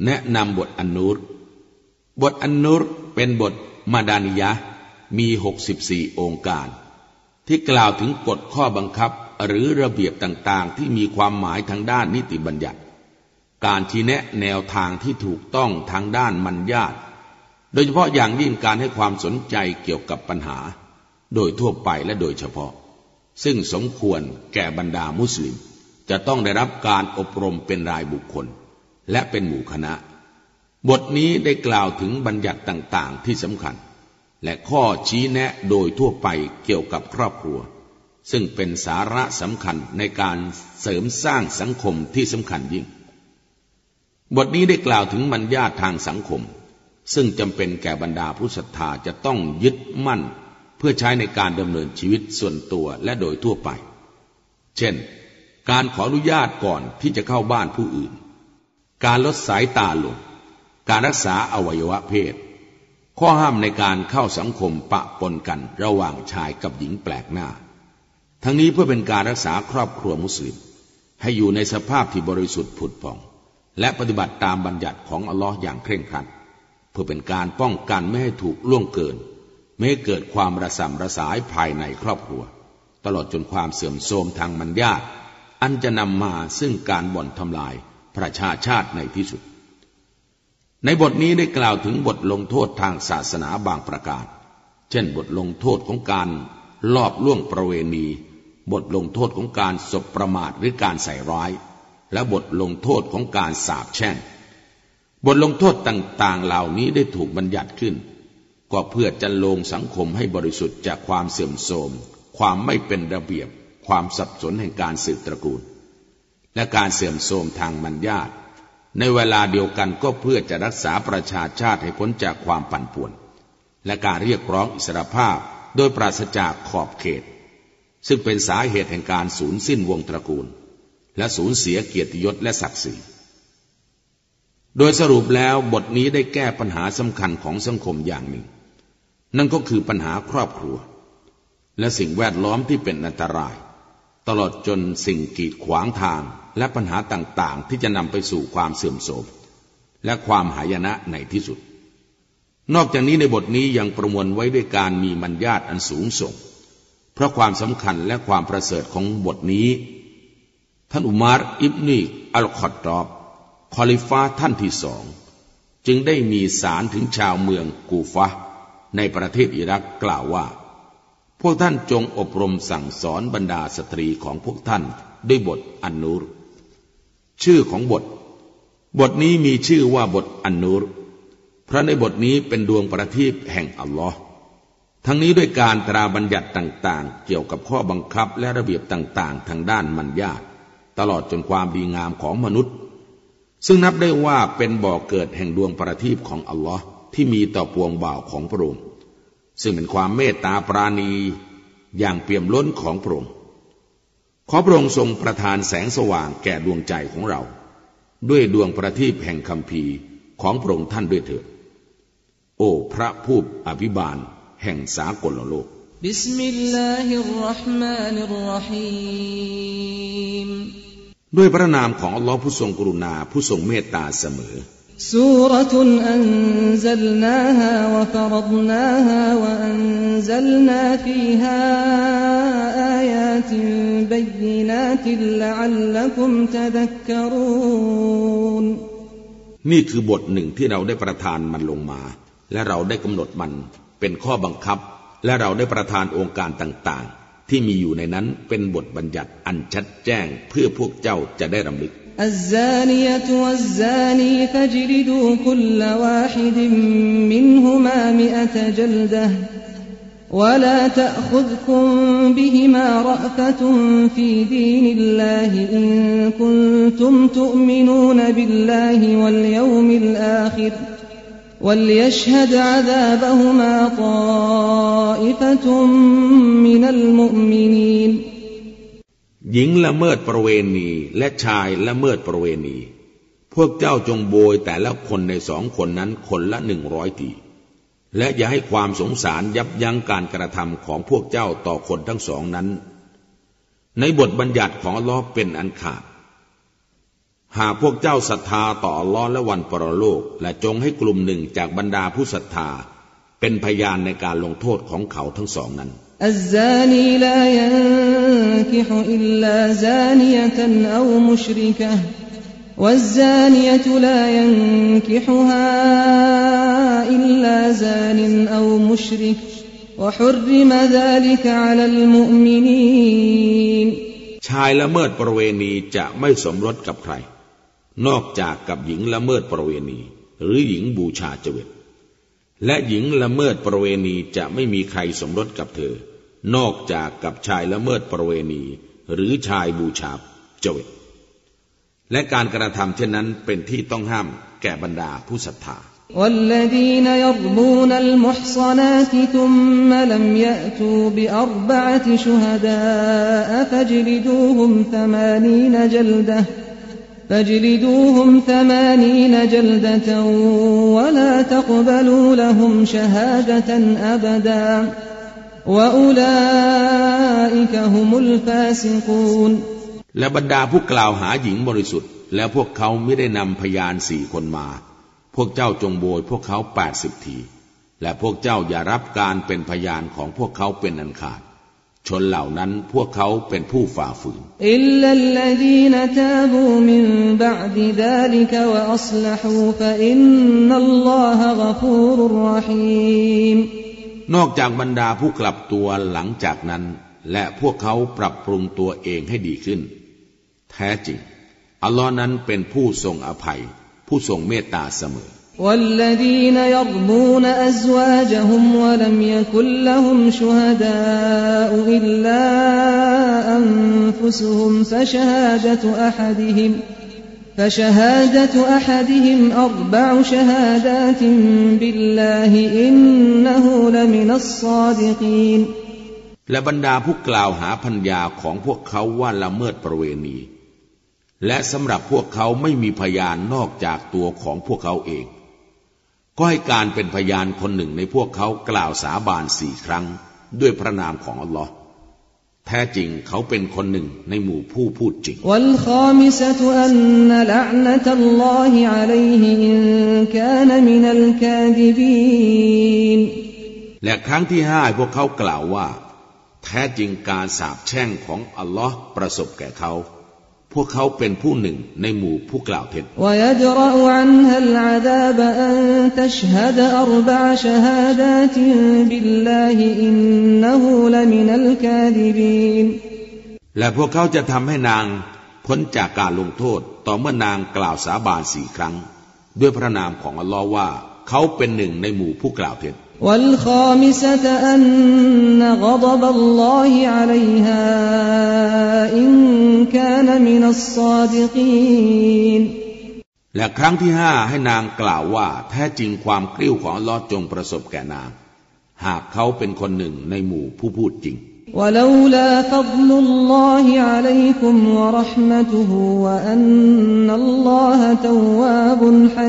แนะนำบทอันนูรบทอันนูรเป็นบทมาดานิยะห์มี64องค์การที่กล่าวถึงกฎข้อบังคับหรือระเบียบต่างๆที่มีความหมายทางด้านนิติบัญญัติการชี้แนะแนวทางที่ถูกต้องทางด้านมัญญาตโดยเฉพาะอย่างยิ่งการให้ความสนใจเกี่ยวกับปัญหาโดยทั่วไปและโดยเฉพาะซึ่งสมควรแก่บรรดามุสลิมจะต้องได้รับการอบรมเป็นรายบุคคลและเป็นหมู่คณะบทนี้ได้กล่าวถึงบัญญัติต่างๆที่สำคัญและข้อชี้แนะโดยทั่วไปเกี่ยวกับครอบครัวซึ่งเป็นสาระสำคัญในการเสริมสร้างสังคมที่สำคัญยิ่งบทนี้ได้กล่าวถึงมัญญาตทางสังคมซึ่งจำเป็นแก่บรรดาผู้ศรัทธาจะต้องยึดมั่นเพื่อใช้ในการดำเนินชีวิตส่วนตัวและโดยทั่วไปเช่นการขออนุญาตก่อนที่จะเข้าบ้านผู้อื่นการลดสายตาลงการรักษาอวัยวะเพศข้อห้ามในการเข้าสังคมปะปนกันระหว่างชายกับหญิงแปลกหน้าทั้งนี้เพื่อเป็นการรักษาครอบครัวมุสลิมให้อยู่ในสภาพที่บริสุทธิ์ผุดผ่องและปฏิบัติตามบัญญัติของอัลลอฮ์อย่างเคร่งครัดเพื่อเป็นการป้องกันไม่ให้ถูกล่วงเกินไม่ให้เกิดความระส่ำระสายภายในครอบครัวตลอดจนความเสื่อมโทรมทางมัญญาตอันจะนำมาซึ่งการบ่อนทำลายประชาชาติในที่สุดในบทนี้ได้กล่าวถึงบทลงโทษทางศาสนาบางประการเช่นบทลงโทษของการลอบล่วงประเวณีบทลงโทษของการสบประมาทหรือการใส่ร้ายและบทลงโทษของการสาปแช่งบทลงโทษต่างๆเหล่านี้ได้ถูกบัญญัติขึ้นก็เพื่อจะลงสังคมให้บริสุทธิ์จากความเสื่อมโทรมความไม่เป็นระเบียบความสับสนแห่งการสืบตระกูลและการเสื่อมโทรมทางมัญญาตในเวลาเดียวกันก็เพื่อจะรักษาประชาชาติให้พ้นจากความปั่นป่วนและการเรียกร้องอิสรภาพโดยปราศจากขอบเขตซึ่งเป็นสาเหตุแห่งการสูญสิ้นวงตระกูลและสูญเสียเกียรติยศและศักดิ์ศรีโดยสรุปแล้วบทนี้ได้แก้ปัญหาสำคัญของสังคมอย่างหนึ่งนั่นก็คือปัญหาครอบครัวและสิ่งแวดล้อมที่เป็นอันตรายตลอดจนสิ่งกีดขวางทางและปัญหาต่างๆที่จะนำไปสู่ความเสื่อมโทรมและความหายนะในที่สุดนอกจากนี้ในบทนี้ยังประมวลไว้ด้วยการมีมัญญาตอันสูงส่งเพราะความสำคัญและความประเสริฐของบทนี้ท่านอุมารอิบนีอัลคอฏฏอบคอลิฟะห์ท่านที่สองจึงได้มีสารถึงชาวเมืองกูฟะห์ในประเทศอิรักกล่าวว่าพวกท่านจงอบรมสั่งสอนบรรดาสตรีของพวกท่านด้วยบทอันนูรชื่อของบทนี้มีชื่อว่าบทอันนูรเพราะในบทนี้เป็นดวงประทีปแห่งอัลลอฮ์ทั้งนี้ด้วยการตราบัญญัติต่างๆเกี่ยวกับข้อบังคับและระเบียบต่างๆทางด้านมัญญาตตลอดจนความดีงามของมนุษย์ซึ่งนับได้ว่าเป็นบ่อเกิดแห่งดวงประทีปของอัลลอฮ์ที่มีต่อปวงบ่าวของพระองค์ซึ่งเป็นความเมตตาปราณีอย่างเปี่ยมล้นของพระองค์ขอพระองค์ทรงประทานแสงสว่างแก่ดวงใจของเราด้วยดวงประทีปแห่งคัมภีร์ของพระองค์ท่านด้วยเถิดโอ้พระผู้อภิบาลแห่งสากลโลกบิสมิลลาฮิรเราะห์มานิรเราะฮีมด้วยพระนามของอัลลอฮ์ผู้ทรงกรุณาผู้ทรงเมตตาเสมอซูเราะตุนอันซัลนาฮาวะฟะรัฎนาฮาวะอันซัลนาฟีฮาอายาตินบัยยินาตินละอัลลักุมตะซักกะรูนนี่คือบทหนึ่งที่เราได้ประทานมันลงมาและเราได้กำหนดมันเป็นข้อบังคับและเราได้ประทานองค์การต่างๆที่มีอยู่ในนั้นเป็นบทบัญญัติอันชัดแจ้งเพื่อพวกเจ้าจะได้รำลึกالزانية والزاني فاجلدوا كل واحد منهما 100 جلدة ولا تأخذكم بهما رأفة في دين الله إن كنتم تؤمنون بالله واليوم الآخر وليشهد عذابهما طائفة من المؤمنينหญิงละเมิดประเวณีและชายละเมิดประเวณีพวกเจ้าจงโบยแต่ละคนใน2 คนนั้นคนละ100 ทีและอย่าให้ความสงสารยับยั้งการกระทำของพวกเจ้าต่อคนทั้ง2นั้นในบทบัญญัติของอัลเลาะห์เป็นอันขาดหากพวกเจ้าศรัทธาต่ออัลลอฮ์และวันปรโลกและจงให้กลุ่มหนึ่งจากบรรดาผู้ศรัทธาเป็นพยานในการลงโทษของเขาทั้งสองนั้นอัซซานีลายันกิฮุอิลลาซานียะตันเอามุชริกะฮ์วัซซานียะตุลายันกิฮุฮาอิลลาซานินเอามุชริกวะฮุรริมะซาลิกะอะลัลมุอ์มินีนชายละเมิดประเวณีจะไม่สมรสกับใครนอกจากกับหญิงละเมิดประเวณีหรือหญิงบูชาเจวิตและหญิงละเมิดประเวณีจะไม่มีใครสมรสกับเธอนอกจากกับชายละเมิดประเวณีหรือชายบูชาเจวิตและการกระทำเช่นนั้นเป็นที่ต้องห้ามแก่บรรดาผู้ศรัทธา والذين يرمون المحصنات ثم لم يأتوا بأربعة شهداء فاجلدوهم 80 جلدة ولا تقبلوا لهم شهادة أبدا وأولئك هم الفاسقون และบรรดาผู้กล่าวหาหญิงบริสุทธิ์แล้วพวกเขาไม่ได้นำพยาน4 คนมาพวกเจ้าจงโบยพวกเขา80 ทีและพวกเจ้าอย่ารับการเป็นพยานของพวกเขาเป็นอันขาดชนเหล่านั้นพวกเขาเป็นผู้ฝ่าฝืนอิลลัลลซีนตาบูมินบะอ์ดิซาลิกวะอัศลฮูฟะอินนัลลอฮะฆะฟูรุรเราะฮีมนอกจากบรรดาผู้กลับตัวหลังจากนั้นและพวกเขาปรับปรุงตัวเองให้ดีขึ้นแท้จริงอัลลอฮ์นั้นเป็นผู้ทรงอภัยผู้ทรงเมตตาเสมอ والذين يرمون أزواجهم ولم يكن لهم شهداء إلا أنفسهم فشهادة أحدهم 4 شهادات بالله إنه لمن الصادقين และบรรดาผู้กล่าวหาภรรยาของพวกเขาว่าละเมิดประเวณีและสำหรับพวกเขาไม่มีพยานนอกจากตัวของพวกเขาเองก็ให้การเป็นพยานคนหนึ่งในพวกเขากล่าวสาบาน4 ครั้งด้วยพระนามของอัลลอฮ์แท้จริงเขาเป็นคนหนึ่งในหมู่ผู้พูดจริงและครั้งที่5พวกเขากล่าวว่าแท้จริงการสาปแช่งของอัลลอฮ์ประสบแก่เขาพวกเขาเป็นผู้หนึ่งในหมู่ผู้กล่าวเท็จและพวกเขาจะทำให้นางพ้นจากการลงโทษต่อเมื่อนางกล่าวสาบาน4 ครั้งด้วยพระนามของอัลลอฮ์ว่าเขาเป็นหนึ่งในหมู่ผู้กล่าวเท็จ والخامسة أن غضب الله عليها إن كان من الصادقين และครั้งที่5ให้นางกล่าวว่าแท้จริงความกริ้วของอัลเลาะห์จงประสบแก่นางหากเขาเป็นคนหนึ่งในหมู่ผู้พูดจริง ولولا فضل الله عليكم ورحمته وأن الله تواب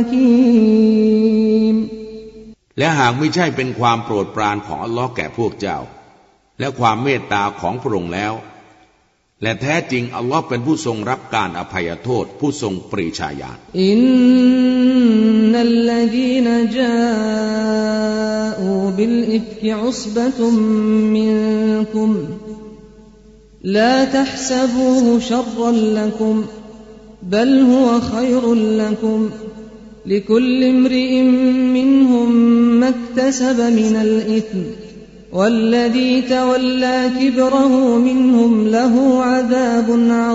حكيم และหากไม่ใช่เป็นความโปรดปรานของอัลลอฮ์แก่พวกเจ้าและความเมตตาของพระองค์แล้วและแท้จริงอัลลอฮ์เป็นผู้ทรงรับการอภัยโทษผู้ทรงปรีชาญาณอินนัลลซีนจาอูบิลอิฟกิอุศบะตุมมินกุมลาตัห์ซะบูฮุชัรรันละกุมบัลฮุวะค็อยรุนละกุมلكل امرئ منهم ما اكتسب من الإثم والذي تولى كبره منهم له عذاب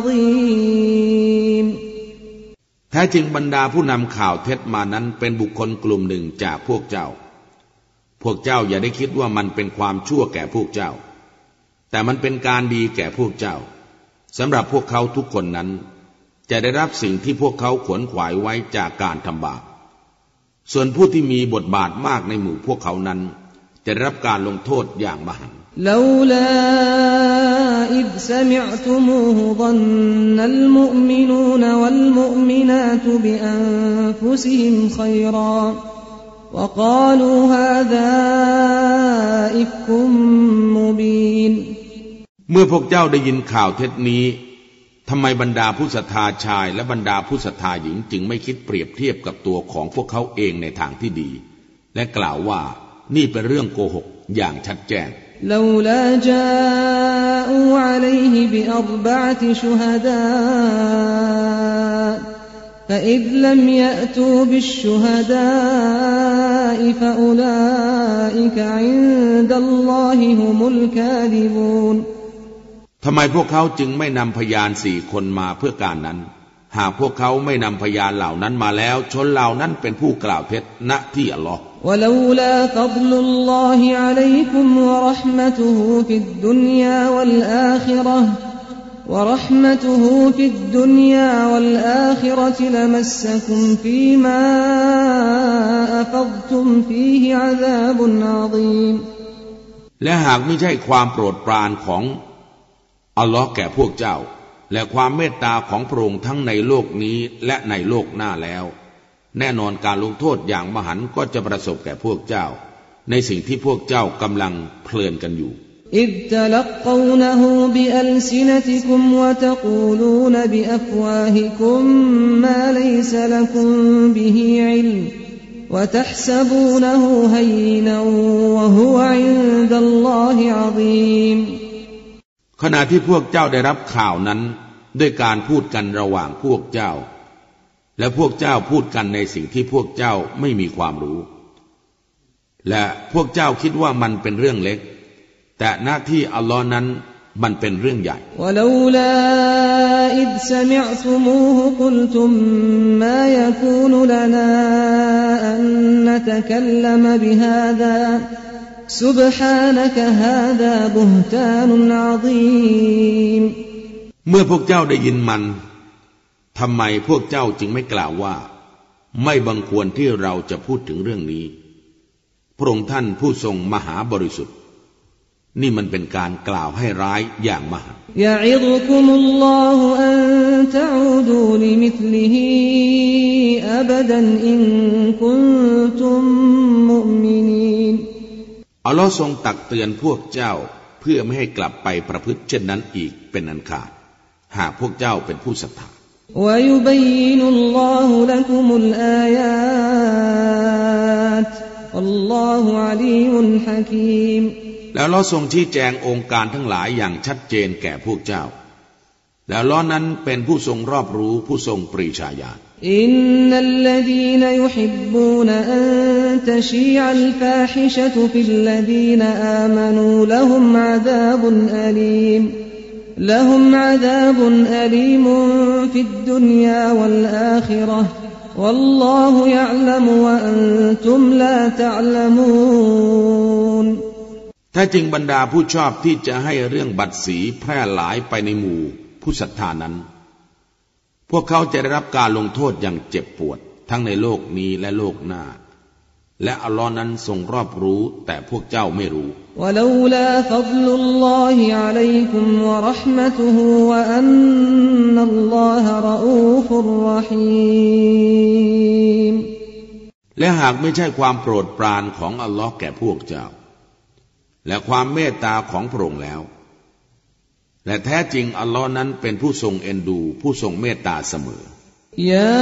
عظيم แท้จริงบรรดาผู้นำข่าวเท็จมานั้นเป็นบุคคลกลุ่มหนึ่งจากพวกเจ้าอย่าได้คิดว่ามันเป็นความชั่วแก่พวกเจ้าแต่มันเป็นการดีแก่พวกเจ้าสำหรับพวกเขาทุกคนนั้นจะได้รับสิ่งที่พวกเขาขวนขวายไว้จากการทำบาปส่วนผู้ที่มีบทบาทมากในหมู่พวกเขานั้นจะได้รับการลงโทษอย่างมหันต์ลาลาอิซซะมิอ์ตุมูฮุ ظนนัลมุอ์มินูนวัลมุอ์มินาตบิอันฟุซิฮิมค็อยราวะกาลูฮาซาอิฟกุมมุบีนเมื่อพวกเจ้าได้ยินข่าวเท็จนี้ทำไมบรรดาผู้ศรัทธาชายและบรรดาผู้ศรัทธาหญิงจึงไม่คิดเปรียบเทียบกับตัวของพวกเขาเองในทางที่ดีและกล่าวว่านี่เป็นเรื่องโกหกอย่างชัดแจ้ง لولا جاءوا عليه بأربعة شهداء فإذ لم يأتوا بالشهداء فأولئك عند الله هم الكاذبون ทำไมพวกเขาจึงไม่นำพยาน4 คนมาเพื่อการนั้นหากพวกเขาไม่นำพยานเหล่านั้นมาแล้วชนเหล่านั้นเป็นผู้กล่าวเท็จณที่อัลลอฮ์ ولولا فضل الله عليكم ورحمته في الدنيا والآخرة لمسكم فيما أفضتم فيه عذاب عظيم และหากไม่ใช่ความโปรดปรานของอัลลอฮ์แก่พวกเจ้าและความเมตตาของพระองค์ทั้งในโลกนี้และในโลกหน้าแล้วแน่นอนการลงโทษอย่างมหันต์ก็จะประสบแก่พวกเจ้าในสิ่งที่พวกเจ้ากำลังเพลินกันอยู่ إذ تلقونه بألسنتكم وتقولون بأفواهكم ما ليس لكم به علم وتحسبونه هينا وهو عند الله عظيم ขณะที่พวกเจ้าได้รับข่าวนั้นด้วยการพูดกันระหว่างพวกเจ้าและพวกเจ้าพูดกันในสิ่งที่พวกเจ้าไม่มีความรู้และพวกเจ้าคิดว่ามันเป็นเรื่องเล็กแต่หน้าที่อัลลอฮ์นั้นมันเป็นเรื่องใหญ่ ولولا إذ سمعتموه قلتم ما يكون لنا أن نتكلم بهذا سبحانك هذا بهتان عظيم เมื่อพวกเจ้าได้ยินมันทำไมพวกเจ้าจึงไม่กล่าวว่าไม่บังควรที่เราจะพูดถึงเรื่องนี้พระองค์ท่านผู้ทรงมหาบริสุทธิ์นี่มันเป็นการกล่าวให้ร้ายอย่างมหันต์ยะอิฎุกุมุลลอฮุอันตะอูดูลิมิธลิฮิอับดันอินกุนตุมมุมินีนอัลลอฮ์ทรงตักเตือนพวกเจ้าเพื่อไม่ให้กลับไปประพฤติเช่นนั้นอีกเป็นอันขาดหากพวกเจ้าเป็นผู้ศรัทธา ويبين الله لكم الآيات والله عليم حكيم แล้วเราทรงชี้แจงองค์การทั้งหลายอย่างชัดเจนแก่พวกเจ้าแล้วเรานั้นเป็นผู้ทรงรอบรู้ผู้ทรงปรีชาญาณอินนัลลซีนยุฮิบบูนอันตะชีอัลฟาฮิชะตุฟิลลซีนอามานูละฮุมอะซาบุนอะลีมلهم عذاب أليم في الدنيا والآخرة والله يعلم وأنتم لا تعلمون แท้จริงบรรดาผู้ชอบที่จะให้เรื่องบัดสีแพร่หลายไปในหมู่ผู้ศรัทธานั้นพวกเขาจะได้รับการลงโทษอย่างเจ็บปวดทั้งในโลกนี้และโลกหน้าและอัลลอฮ์นั้นทรงรอบรู้แต่พวกเจ้าไม่รู้ ولولا فضل الله عليكم ورحمته وأن الله رؤوف رحيم และหากไม่ใช่ความโปรดปรานของอัลลอฮ์แก่พวกเจ้าและความเมตตาของพระองค์แล้วและแท้จริงอัลลอฮ์นั้นเป็นผู้ทรงเอ็นดูผู้ทรงเมตตาเสมอยา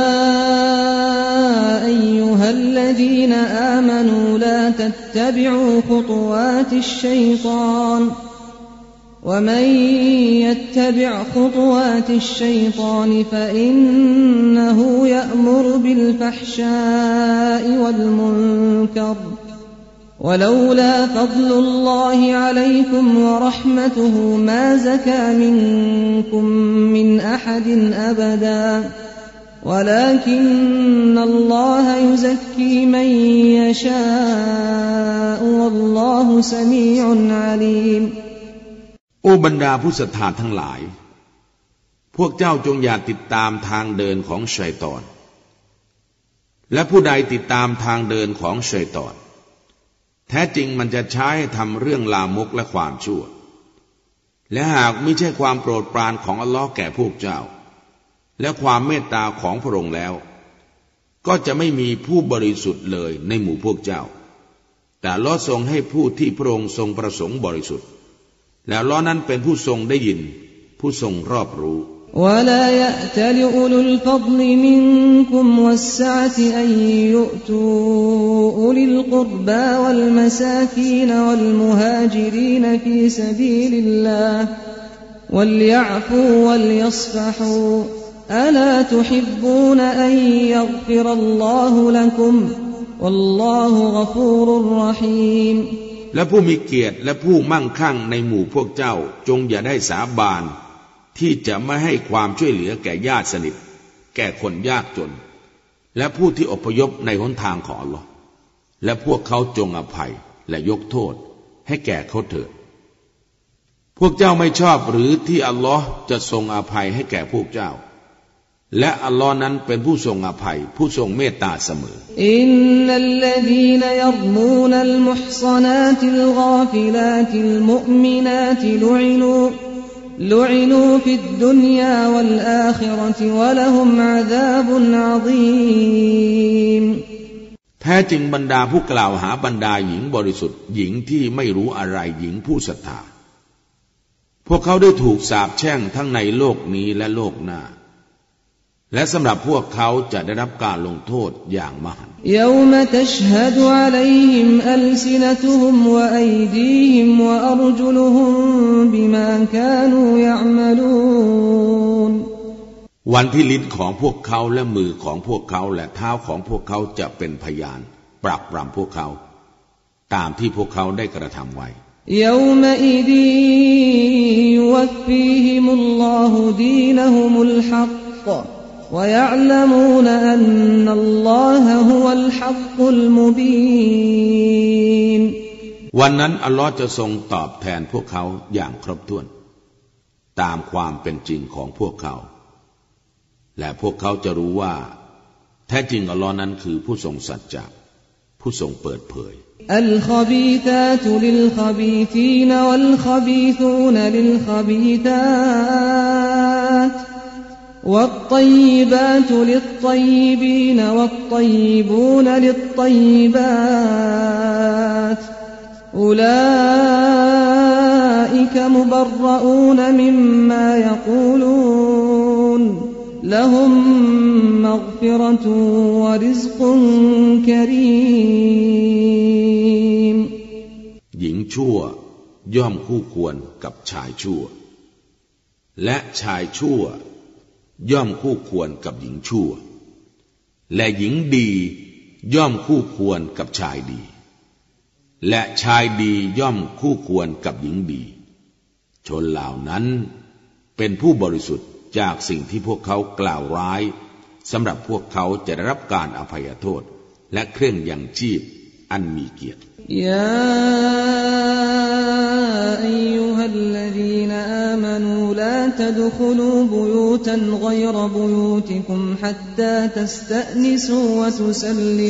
أيها الذين آمنوا لا تتبعوا خطوات الشيطان ومن يتبع خطوات الشيطان فإنه يأمر بالفحشاء والمنكر ولولا فضل الله عليكم ورحمته ما زكى منكم من أحد أبدا ولكن الله يزكي من يشاء والله سميع عليم โอ้บรรดาผู้ศรัทธาทั้งหลายพวกเจ้าจงอย่าติดตามทางเดินของชัยฏอนและผู้ใดติดตามทางเดินของชัยฏอนแท้จริงมันจะใช้ให้ทำเรื่องลามกและความชั่วและหากไม่ใช่ความโปรดปรานของอัลลอฮ์แก่พวกเจ้าและความเมตตาของพระองค์แล้วก็จะไม่มีผู้บริสุทธิ์เลยในหมู่พวกเจ้าแต่อัลลอฮ์ทรงให้ผู้ที่พระองค์ทรงประสงค์บริสุทธิ์แล้วอัลลอฮ์นั้นเป็นผู้ทรงได้ยินผู้ทรงรอบรู้ ولا يأتل أولو الفضل منكم والسعة أن يؤتوا أولي القربى والمساكين والمهاجرين في سبيل الله وليعفوا وليصفحوا ألا تحبون أن يغفر الله لكم والله غفور رحيم และผู้มีเกียรติและผู้มั่งคั่งในหมู่พวกเจ้าจงอย่าได้สาบานที่จะไม่ให้ความช่วยเหลือแก่ญาติสนิทแก่คนยากจนและผู้ที่อพยพในหนทางของอัลลอฮ์และพวกเขาจงอภัยและยกโทษให้แก่เขาเถิดพวกเจ้าไม่ชอบหรือที่อัลลอฮ์จะทรงอภัยให้แก่พวกเจ้าและอัลลอฮ์นั้นเป็นผู้ทรงอภัยผู้ทรงเมตตาเสมออินนัลลซีนยัรมูนัลมุฮศนาติลฆาฟิลาติลมุอ์มินาติลุอินูฟิดดุนยาวัลอาคิเราะฮ์วะละฮุมอะซาบุนอะซีมแท้จริงบรรดาผู้กล่าวหาบรรดาหญิงบริสุทธิ์หญิงที่ไม่รู้อะไรหญิงผู้ศรัทธาพวกเขาได้ถูกสาปแช่งทั้งในโลกนี้และโลกหน้าและสำหรับพวกเขาจะได้รับการลงโทษอย่างมหันต์ยอมตัชฮะดุอะลัยฮิมอัลซินะตุฮุมวะอัยดีฮิมวะอัรจุลุฮุมบิมากานูยะอ์มะลูนวันที่ลิ้นของพวกเขาและมือของพวกเขาและเท้าของพวกเขาจะเป็นพยานปรับปรำพวกเขาตามที่พวกเขาได้กระทำไว้ยอมอิดียุวัฟฟีฮิมุลลอฮุดีนะฮุมุลฮักويعلمون أن الله هو الحق المبين วันนั้นอัลลอฮ์จะทรงตอบแทนพวกเขาอย่างครบถ้วนตามความเป็นจริงของพวกเขาและพวกเขาจะรู้ว่าแท้จริงอัลลอฮ์นั้นคือผู้ทรงสัจจะผู้ทรงเปิดเผยอัลคบีธาตุลิลคบีธีนวัลคบีทูนลิลคบีธาตوالطيبات للطيبين والطيبون للطيبات أولئك مبرؤون مما يقولون لهم مغفرة ورزق كريم หญิงชั่วย่อมคู่ควรกับชายชั่วและชายชั่วย่อมคู่ควรกับหญิงชั่วและหญิงดีย่อมคู่ควรกับชายดีและชายดีย่อมคู่ควรกับหญิงดีชนเหล่านั้นเป็นผู้บริสุทธิ์จากสิ่งที่พวกเขากล่าวร้ายสำหรับพวกเขาจะได้รับการอภัยโทษและเครื่องยังชีพอันมีเกียรติยาอัยยูฮัลลซีนอามานูลาตะดุคุลูบุยูตันฆอยรบุยูติกุมฮัตตาตัสตะนิซูวะตุซัลลิ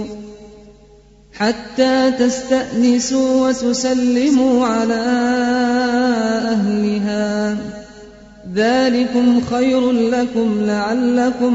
มูอะลาอะห์ลิฮาذلكم خير لكم لعلكم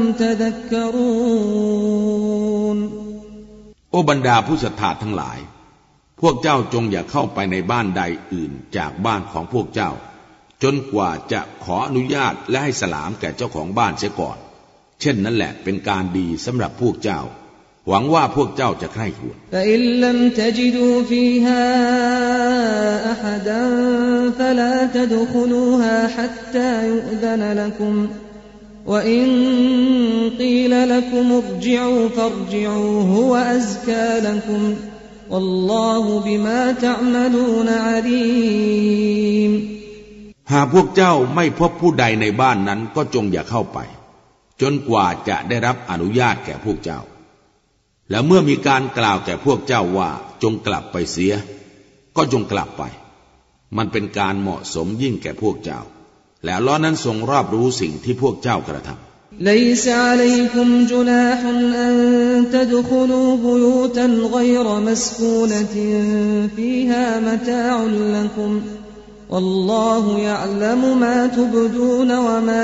تذكرون โอบรรดาผู้ศรัทธาทั้งหลายพวกเจ้าจงอย่าเข้าไปในบ้านใดอื่นจากบ้านของพวกเจ้าจนกว่าจะขออนุญาตและให้สลามแก่เจ้าของบ้านเสียก่อนเช่นนั้นแหละเป็นการดีสำหรับพวกเจ้าหวังว่าพวกเจ้าจะใคร่ครวญ فإن لم تجدوا فيها أحدا فلا تدخلوها حتى يؤذن لكم وإن قيل لكم ارجعوا فارجعوا هو أزكى لكم والله بما تعملون عليم หากพวกเจ้าไม่พบผู้ใดในบ้านนั้นก็จงอย่าเข้าไปจนกว่าจะได้รับอนุญาตแก่พวกเจ้าและเมื่อมีการกล่าวแก่พวกเจ้าว่าจงกลับไปเสียก็จงกลับไปมันเป็นการเหมาะสมยิ่งแก่พวกเจ้าและอัลเลาะห์นั้นทรงรอบรู้สิ่งที่พวกเจ้ากระทำ ليس عليكم جناح أن تدخلوا بيوتا غير مسكونة فيها متاع لكم والله يعلم ما تبدون وما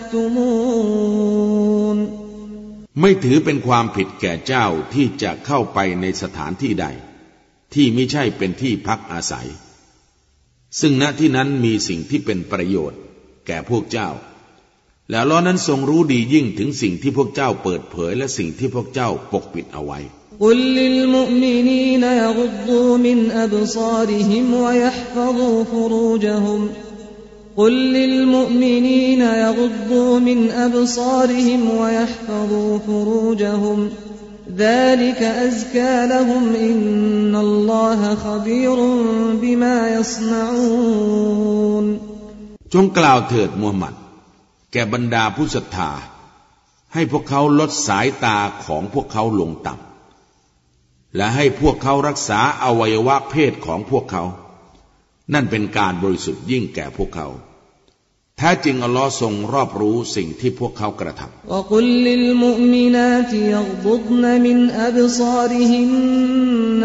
تكتمونไม่ถือเป็นความผิดแก่เจ้าที่จะเข้าไปในสถานที่ใดที่ไม่ใช่เป็นที่พักอาศัยซึ่งณที่นั้นมีสิ่งที่เป็นประโยชน์แก่พวกเจ้าและอัลเลาะห์นั้นทรงรู้ดียิ่งถึงสิ่งที่พวกเจ้าเปิดเผยและสิ่งที่พวกเจ้าปกปิดเอาไว้ قل للمؤمنين يغضوا من أبصارهم ويحفظوا فروجهم قل للمؤمنين يغضوا من أبصارهم ويحفظوا فروجهم ذلك أزكى لهم إن الله خبير بما يصنعون จงกล่าวเถิดมูฮัมหมัดแก่บรรดาผู้ศรัทธาให้พวกเขาลดสายตาของพวกเขาลงต่ำและให้พวกเขารักษาอวัยวะเพศของพวกเขานั่นเป็นการบริสุทธิ์ยิ่งแก่พวกเขาแท้จริงอัลลอฮ์ทรงรอบรู้สิ่งที่พวกเขากระทำ وَقُلْ لِلْمُؤْمِنَاتِ يَغْضُضْنَ مِنْ أَبْصَارِهِنَّ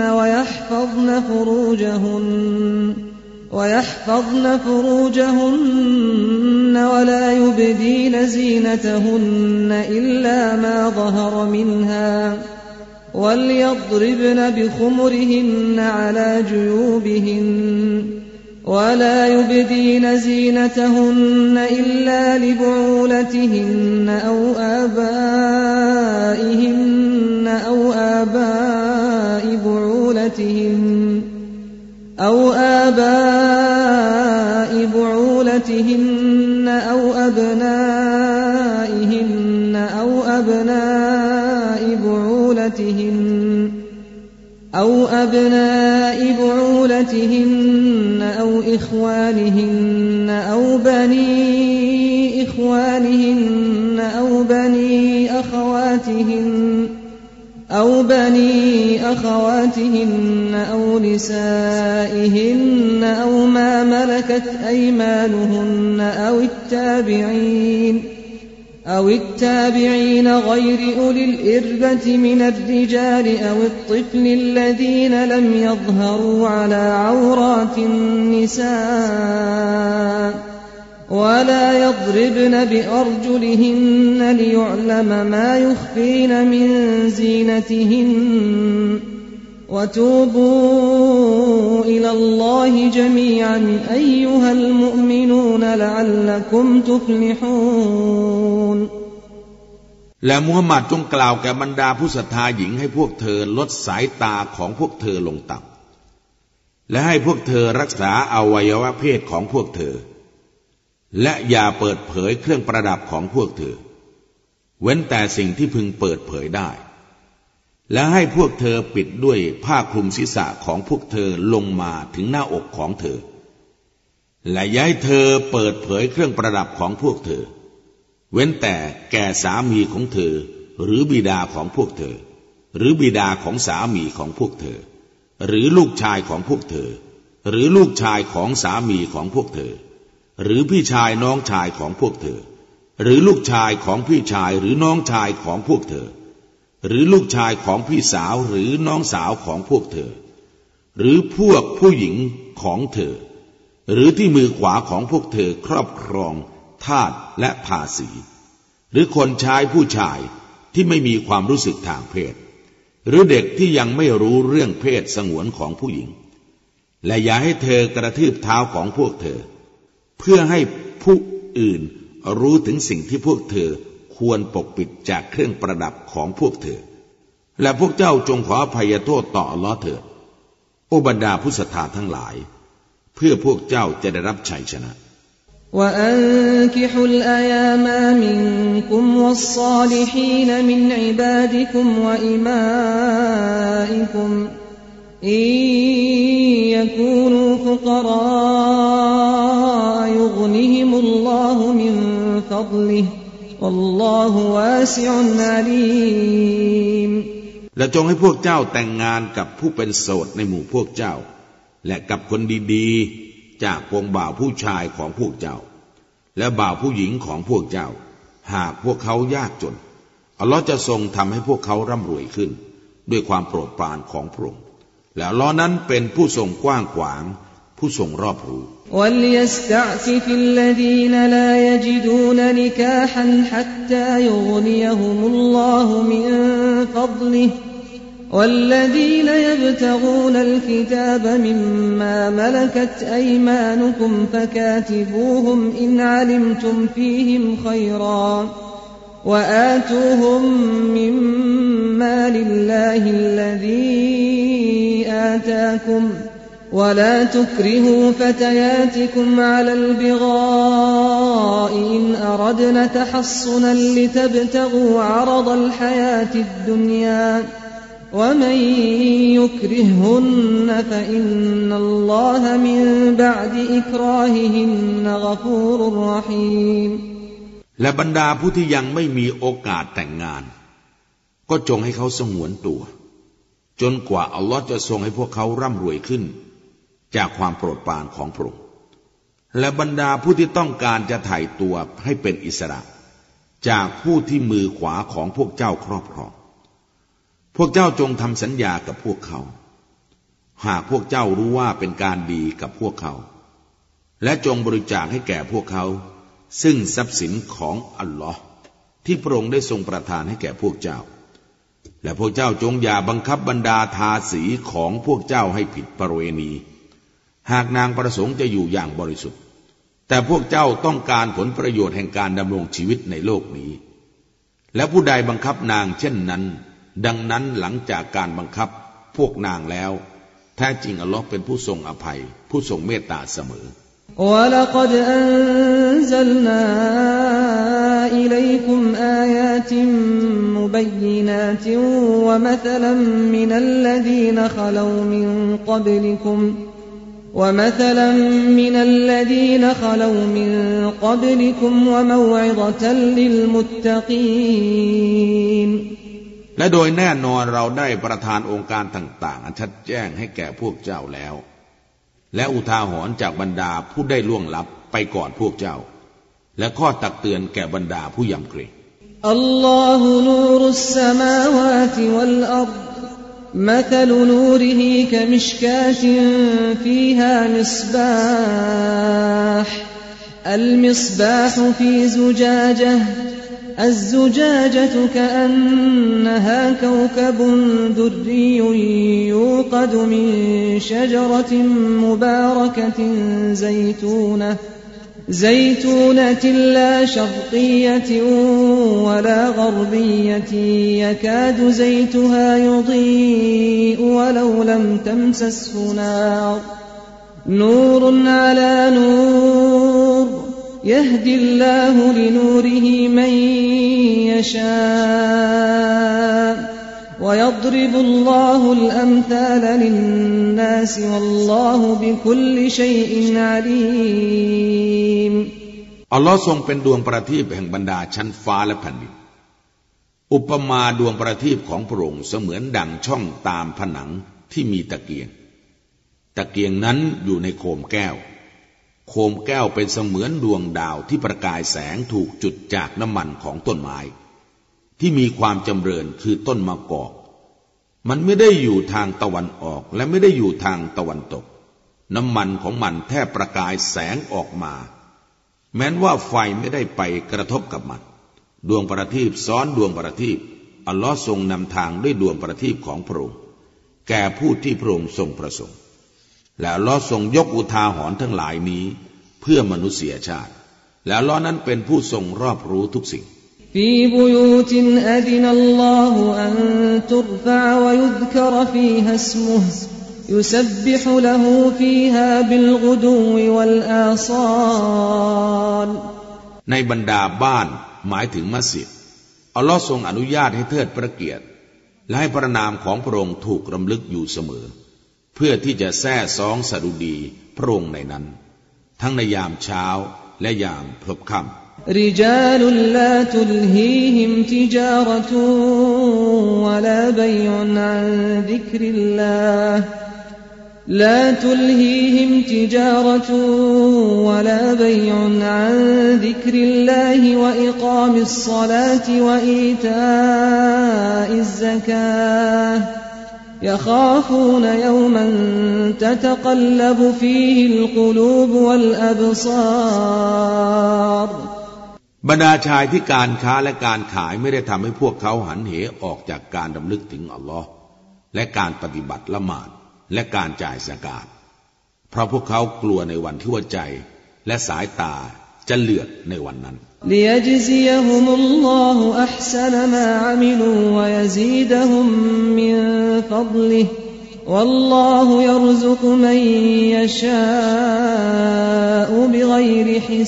وَيَحْفَظْنَ فُرُوجَهُنَّ وَلَا يُبْدِينَ زِينَتَهُنَّ إِلَّا مَا ظَهَرَ مِنْهَا وَلْيَضْرِبْنَ بِخُمُرِهِنَّ عَلَى جُيُوبِهِنَّ ولا يبدين زينتهن إلا لبعولتهن أو آبائهن أو آباء بعولتهن أو أبناء بعولتهن أو إخوانهن أو بني إخوانهن أو بني أخواتهن أو نسائهن أو ما ملكت أيمانهن أو التابعين غير أولي الإربة من الرجال أو الطفل الذين لم يظهروا على عورات النساء ولا يضربن بأرجلهن ليعلم ما يخفين من زينتهن وتوبوا إلى الله جميعا أيها المؤمنون لعلكم تفلحون และมูฮัมหมัดจงกล่าวแก่บรรดาผู้ศรัทธาหญิงให้พวกเธอลดสายตาของพวกเธอลงต่ำและให้พวกเธอรักษาอวัยวะเพศของพวกเธอและอย่าเปิดเผยเครื่องประดับของพวกเธอเว้นแต่สิ่งที่พึงเปิดเผยได้และให้พวกเธอปิดด้วยผ้าคลุมศีรษะของพวกเธอลงมาถึงหน้าอกของเธอและอย่าให้เธอเปิดเผยเครื่องประดับของพวกเธอเว้นแต่แก่สามีของเธอหรือบิดาของพวกเธอหรือบิดาของสามีของพวกเธอหรือลูกชายของพวกเธอหรือลูกชายของสามีของพวกเธอหรือพี่ชายน้องชายของพวกเธอหรือลูกชายของพี่ชายหรือน้องชายของพวกเธอหรือลูกชายของพี่สาวหรือน้องสาวของพวกเธอหรือพวกผู้หญิงของเธอหรือที่มือขวาของพวกเธอครอบครองทาสและภาษีหรือคนใช้ผู้ชายที่ไม่มีความรู้สึกทางเพศหรือเด็กที่ยังไม่รู้เรื่องเพศสงวนของผู้หญิงและอย่าให้เธอกระทืบเท้าของพวกเธอเพื่อให้ผู้อื่นรู้ถึงสิ่งที่พวกเธอควรปกปิดจากเครื่องประดับของพวกเธอและพวกเจ้าจงขออภัยโทษต่ออัลเลาะห์เถิดโอบรรดาผู้ศรัทธาทั้งหลายเพื่อพวกเจ้าจะได้รับชัยชนะ وأنكحوا الأيام منكم والصالحين من عبادكم وإمائكم إن يكونوا فقراء يغنهم الله من فضله والله واسع عليم และจงให้พวกเจ้าแต่งงานกับผู้เป็นโสดในหมู่พวกเจ้าและกับคนดีๆจากพวงบ่าวผู้ชายของพวกเจ้าและบ่าวผู้หญิงของพวกเจ้าหากพวกเขายากจนอัลลอฮ์จะทรงทำให้พวกเขาร่ำรวยขึ้นด้วยความโปรดปรานของพระองค์และอัลลอฮ์นั้นเป็นผู้ทรงกว้างขวางผู้ทรงรอบรู้ وَلْيَسْتَعْفِفِ الَّذِينَ لَا يَجِدُونَ نِكَاحًا حَتَّى يُغْنِيَهُمُ اللَّهُ مِنْ فَضْلِهِ والذين يبتغون الكتاب مما ملكت أيمانكم فكاتبوهم إن علمتم فيهم خيرا وآتوهم مما لله الذي آتاكم ولا تكرهوا فتياتكم على البغاء إن أردنا تحصنا لتبتغوا عرض الحياة الدنيا ومن يكرههن فإن الله من بعد إكراههن غفور رحيم และบรรดาผู้ที่ยังไม่มีโอกาสแต่งงานก็จงให้เขาสงวนตัวจนกว่าอัลลอฮ์จะทรงให้พวกเขาร่ำรวยขึ้นจากความโปรดปรานของพระองค์และบรรดาผู้ที่ต้องการจะไถ่ตัวให้เป็นอิสระจากผู้ที่มือขวาของพวกเจ้าครอบครองพวกเจ้าจงทำสัญญากับพวกเขาหากพวกเจ้ารู้ว่าเป็นการดีกับพวกเขาและจงบริจาคให้แก่พวกเขาซึ่งทรัพย์สินของอัลลอฮ์ที่พระองค์ได้ทรงประทานให้แก่พวกเจ้าและพวกเจ้าจงอย่าบังคับบรรดาทาสีของพวกเจ้าให้ผิดประเวณีหากนางประสงค์จะอยู่อย่างบริสุทธิ์แต่พวกเจ้าต้องการผลประโยชน์แห่งการดำรงชีวิตในโลกนี้และผู้ใดบังคับนางเช่นนั้นดังนั้นหลังจากการบังคับพวกนางแล้วแท้จริงอัลลอฮ์เป็นผู้ทรงอภัยผู้ทรงเมตตาเสมอ وَلَقَدْ أَنزَلْنَا إِلَيْكُمْ آيَاتٍ مُبَيِّنَاتٍ وَمَثَلًا مِنَ الَّذِينَ خَلَوْا مِن قَبْلِكُمْ وَمَوْعِظَةً لِّلْمُتَّقِينَ และโดยแน่นอนเราได้ประทานองค์การต่างๆอันชัดแจ้งให้แก่พวกเจ้าแล้วและอุทาหรณ์จากบรรดาผู้ได้ล่วงลับไปก่อนพวกเจ้าและข้อตักเตือนแก่บรรดาผู้ยำเกรงอัลลอฮุนูรุสสมาวาติวัลอัรฎمثل نوره كمشكاة فيها مصباح المصباح في زجاجة الزجاجة كأنها كوكب دري يوقد من شجرة مباركة زيتونة لا شرقية ولا غربية يكاد زيتها يضيء ولو لم تمسسه نور على نور يهدي الله لنوره من يشاء ويضرب الله الأمثال للناس والله بكل شيء عليم อัลลอฮ์ทรงเป็นดวงประทีปแห่งบรรดาชั้นฟ้าและแผ่นดินอุปมาดวงประทีปของพระองค์เสมือนดั่งช่องตามผนังที่มีตะเกียงนั้นอยู่ในโคมแก้วโคมแก้วเป็นเสมือนดวงดาวที่ประกายแสงถูกจุดจากน้ำมันของต้นไม้ที่มีความจำเริญคือต้นมะกอกมันไม่ได้อยู่ทางตะวันออกและไม่ได้อยู่ทางตะวันตกน้ำมันของมันแทบประกายแสงออกมาแม้นว่าไฟไม่ได้ไปกระทบกับมันดวงประทีปซ้อนดวงประทีปอัลลอฮ์ทรงนำทางด้วยดวงประทีปของพระองค์แก่ผู้ที่พระองค์ทรงประสงค์และอัลลอฮ์ทรงยกอุทาหรณ์ทั้งหลายนี้เพื่อมนุษยชาติและอัลลอฮ์นั้นเป็นผู้ทรงรอบรู้ทุกสิ่ง في بيوت أذن الله أن ترفع ويذكر فيها اسمه يسبح له فيها بالغدو والآصال ในบรรดาบ้านหมายถึงมัสยิดอัลลอฮ์ทรงอนุญาตให้เทิดพระเกียรติและให้พระนามของพระองค์ถูกรำลึกอยู่เสมอเพื่อที่จะแซ่ซ้องสดุดีพระองค์ในนั้นทั้งในยามเช้าและยามพลบค่ำ رجال لا تلهيهم تجارة ولا بيع عن ذكر الله لا تلهيهم تجارة ولا بيع عن ذكر الله وإقام الصلاة وإيتاء الزكاة يخافون يوما تتقلب فيه القلوب والأبصار บรรดาชายที่การค้าและการขายไม่ได้ทำให้พวกเขาหันเหออกจากการดำลึกถึงอัลลอฮ์และการปฏิบัติละหมาดและการจ่ายซะกาตเพราะพวกเขากลัวในวันที่หัวใจและสายตาจะเลือดในวันนั้น ليجزيهم الله أحسن ما عملوا ويزيدهم من فضله والله يرزق من يشاء بغير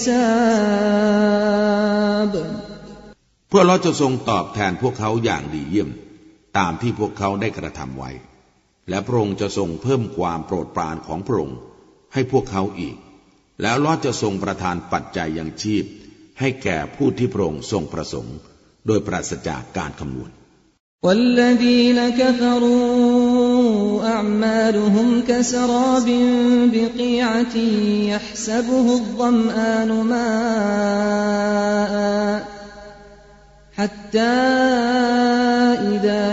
حساب เพื่อเราจะทรงตอบแทนพวกเขาอย่างดีเยี่ยมตามที่พวกเขาได้กระทำไว้และพระองค์จะทรงเพิ่มความโปรดปรานของพระองค์ให้พวกเขาอีกแล้วเราจะทรงประทานปัจจัยยังชีพให้แก่ผู้ที่พระองค์ทรงประสงค์โดยปราศจากการคำนวณ والذين كفروا أعمالهم كسراب بقيعة يحسبه الظمآن ماء حتى إذا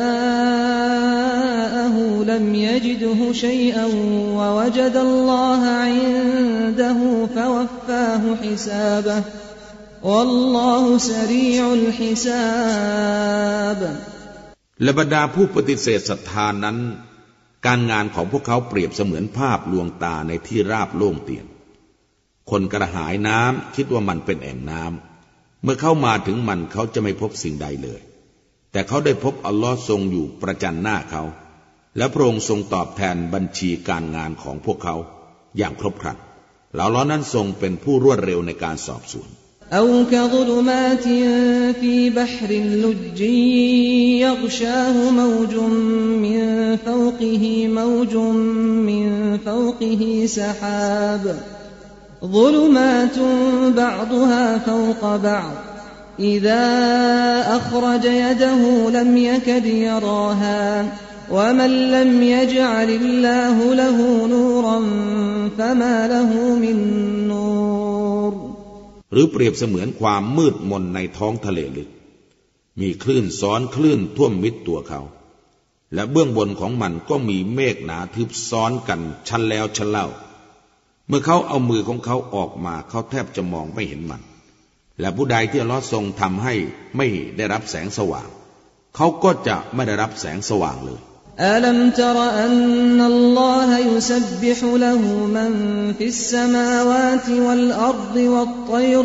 جاءه لم يجده شيئا ووجد الله عنده فوفاه حسابه والله سريع الحساب และบรรดาผู้ปฏิเสธศรัทธานั้นการงานของพวกเขาเปรียบเสมือนภาพลวงตาในที่ราบโล่งเตียนคนกระหายน้ำคิดว่ามันเป็นแอ่งน้ำเมื่อเข้ามาถึงมันเขาจะไม่พบสิ่งใดเลยแต่เขาได้พบอัลลอฮ์ทรงอยู่ประจันหน้าเขาและพระองค์ทรงตอบแทนบัญชีการงานของพวกเขาอย่างครบครันแล้วอัลลอฮ์นั้นทรงเป็นผู้รวดเร็วในการสอบสวน أو كظلمات في بحر لجي يغشاه موج من فوقه موج من فوقه سحاب ظلمات بعضها فوق بعض إذا أخرج يده لم يكد يراها ومن لم يجعل الله له نورا فما له من نور หรือเปรียบเสมือนความมืดมนในท้องทะเลลึกมีคลื่นซ้อนคลื่นท่วมมิดตัวเขาและเบื้องบนของมันก็มีเมฆหนาทึบซ้อนกันชั้นแล้วชั้นเล่าเมื่อเขาเอามือของเขาออกมาเขาแทบจะมองไม่เห็นมันและผู้ใดที่อัลเลาะห์ทรงทำให้ไม่ได้รับแสงสว่างเขาก็จะไม่ได้รับแสงสว่างเลย ألم تر أن الله يسبح له من في السماوات والأرض والطير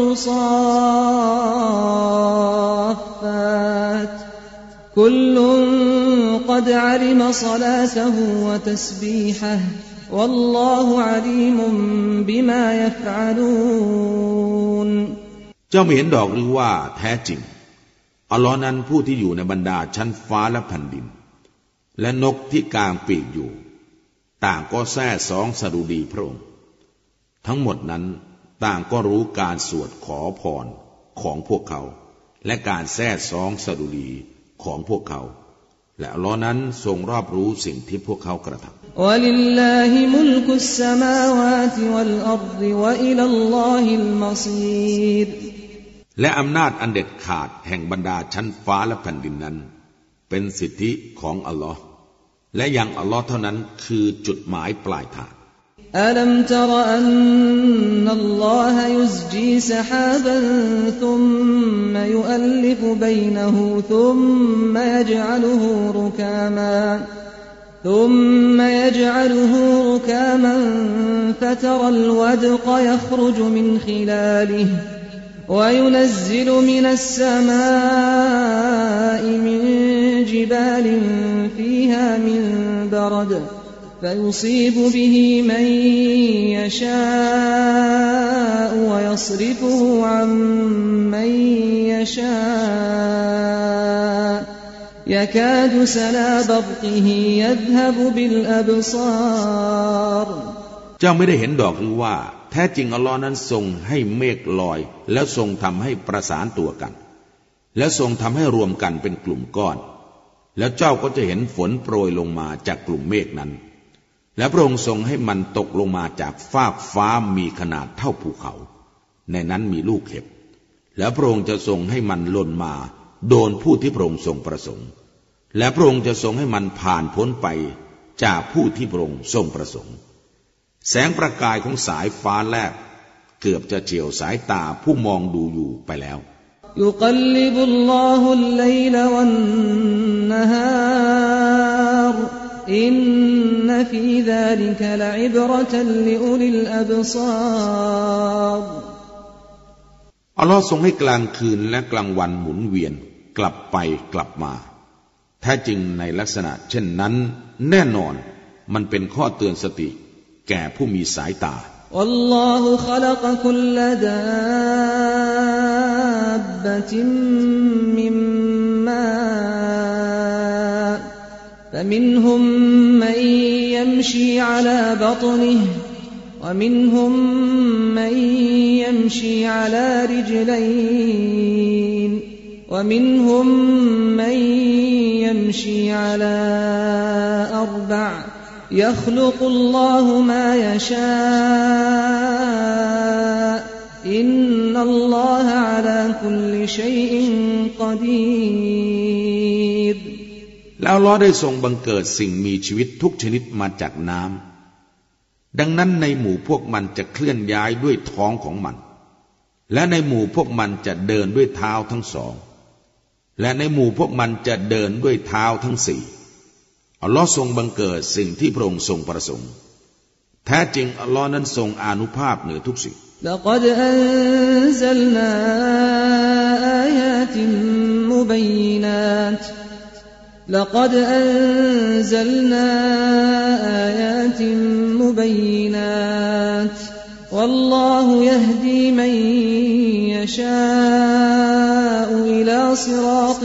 صافات كل قد علم صلاته وتسبيحه والله عليم بما يفعلون เจ้าไม่เห็นดอกหรือว่าแท้จริงอัลลอฮ์นั้นผู้ที่อยู่ในบรรดาชั้นฟ้าและแผ่นดินและนกที่กางปีกอยู่ต่างก็แซ่ซ้องสดุดีพระองค์ทั้งหมดนั้นต่างก็รู้การสวดขอพรของพวกเขาและการแซ่ซ้องสดุดีของพวกเขาและอัลเลาะห์นั้นทรงรอบรู้สิ่งที่พวกเขากระทำวะลิลลาฮิมุลกุสสมาวาติวัลอัรฎิวะอิลัลลอฮิลมัซีรและอำนาจอันเด็ดขาดแห่งบรรดาชั้นฟ้าและแผ่นดินนั้นเป็นสิทธิของอัลลอฮ์และยังอัลลอฮ์เท่านั้นคือจุดหมายปลายทางอัลัมตะรอันนัลลอฮะยุซจีซะฮาบันซุมมะยุอัลลิฟบัยนะฮูซุมมะยะจอะลุฮูรุกามาثم يجعله ركاما فترى الودق يخرج من خلاله وينزل من السماء من جبال فيها من برد فيصيب به من يشاء ويصرفه عن من يشاء يكاد سنا برقه يذهب بالأبصار เจ้าไม่ได้เห็นดอกหรือว่าแท้จริงอัลลอฮ์นั้นทรงให้เมฆลอยแล้วทรงทำให้ประสานตัวกันและทรงทำให้รวมกันเป็นกลุ่มก้อนแล้วเจ้าก็จะเห็นฝนโปรยลงมาจากกลุ่มเมฆนั้นและพระองค์ทรงให้มันตกลงมาจากฟากฟ้ามีขนาดเท่าภูเขาในนั้นมีลูกเห็บแล้วพระองค์จะทรงให้มันหล่นมาโดนผู้ที่พระองค์ทรงประสงค์และพระองค์จะทรงให้มันผ่านพ้นไปจากผู้ที่พระองค์ทรงประสงค์แสงประกายของสายฟ้าแลบเกือบจะเฉียวสายตาผู้มองดูอยู่ไปแล้วยุกัลลิบุลลอฮุลไลลวันนะฮารอินนฟีซาลิกะละอิบเราะตันลิอุลิลอับศารอัลลอฮ์ทรงให้กลางคืนและกลางวันหมุนเวียนกลับไปกลับมาแท้จริงในลักษณะเช่นนั้นแน่นอนมันเป็นข้อเตือนสติแก่ผู้มีสายตาวัลลอฮุคอลักคุลลดาบบะติมมิมมาفمنهم من يمشي على بطنه ومنهم من يمشي على رجلين ومنهم من يمشي على أربع يخلق الله ما يشاء إن الله على كل شيء قدير แล้วอัลเลาะห์ได้ทรงบังเกิดสิ่งมีชีวิตทุกชนิดมาจากน้ำดังนั้นในหมู่พวกมันจะเคลื่อนย้ายด้วยท้องของมันและในหมู่พวกมันจะเดินด้วยเท้าทั้งสองและในหมู่พวกมันจะเดินด้วยเท้าทั้งสี่อัลลอฮ์ทรงบังเกิดสิ่งที่พระองค์ทรงประสงค์แท้จริงอัลลอฮ์นั้นทรงอานุภาพเหนือทุกสิ่ง لقد أنزلنا آيات مبينات لقد أنزلنا آيات مبينات والله يهدي من يشاء إلى صراط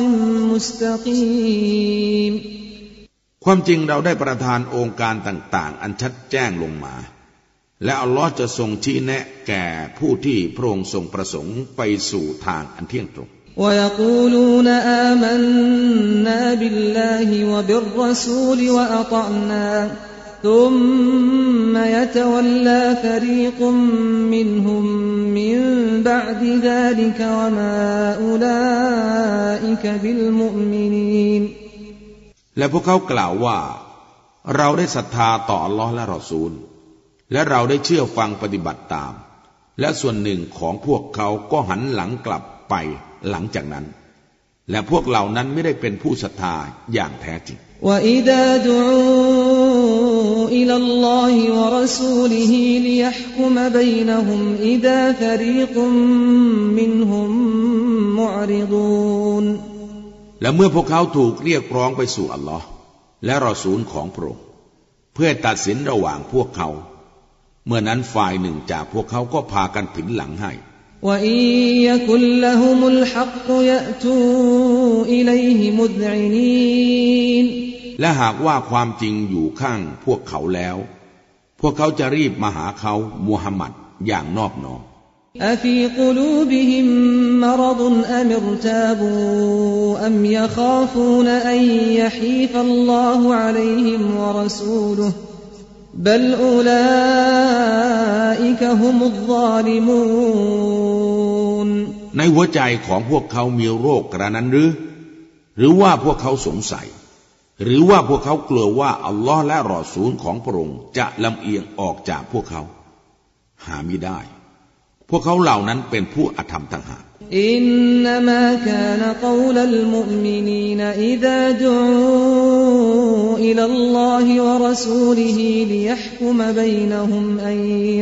مستقيم ความจริงเราได้ประทานองค์การต่างๆอันชัดแจ้งลงมาและอัลลอฮ์จะทรงชี้แนะแก่ผู้ที่พระองค์ทรงประสงค์ไปสู่ทางอันเที่ยงตรง ويقولون آمنا بالله وبالرسول وأطعنا ثم يتولى فريق منهم من بعد ذلك وما أولئك بالمؤمنين และพวกเขากล่าวว่าเราได้ศรัทธาต่ออัลลอฮ์และรอซูลและเราได้เชื่อฟังปฏิบัติตามและส่วนหนึ่งของพวกเขาก็หันหลังกลับไปหลังจากนั้นและพวกเหล่านั้นไม่ได้เป็นผู้ศรัทธาอย่างแท้จริง وَإِذَا دُعُوا إِلَى اللَّهِ وَرَسُولِهِ لِيَحْكُمَ بَيْنَهُمْ إِذَا فَرِيقٌ مِّنْهُمْ مُعْرِضُونَ และเมื่อพวกเขาถูกเรียกร้องไปสู่อัลลอฮ์และรอซูลของพระองค์เพื่อตัดสินระหว่างพวกเขาเมื่อนั้นฝ่ายหนึ่งจากพวกเขาก็พากันผินหลังให้ وَإِن يَكُن لَّهُمُ الْحَقُّ يَأْتُوا إِلَيْهِ مُذْعِنِينَ และหากว่าความจริงอยู่ข้างพวกเขาแล้วพวกเขาจะรีบมาหาเขามุฮัมมัดอย่างนอบน้อม أَفِي قُلُوبِهِم مَّرَضٌ أَمِ ارْتَابُوا أَمْ يَخَافُونَ أَن يَحِيفَ اللَّهُ عَلَيْهِمْ وَرَسُولُهُ بل أولئك هم الظالمون ในหัวใจของพวกเขามีโรคกระนั้นหรือว่าพวกเขาสงสัยหรือว่าพวกเขากลัวว่าอัลลอฮ์และรอซูลของพระองค์จะลำเอียงออกจากพวกเขาหามิได้พวกเขาเหล่านั้นเป็นผู้อธรรมต่างหากอินนามะกานกอลลมุอ์มินีนอิซาดุอูอิลัลลอฮิวะรอซูลิฮิลิยะห์กุมบัยนะฮุมอัน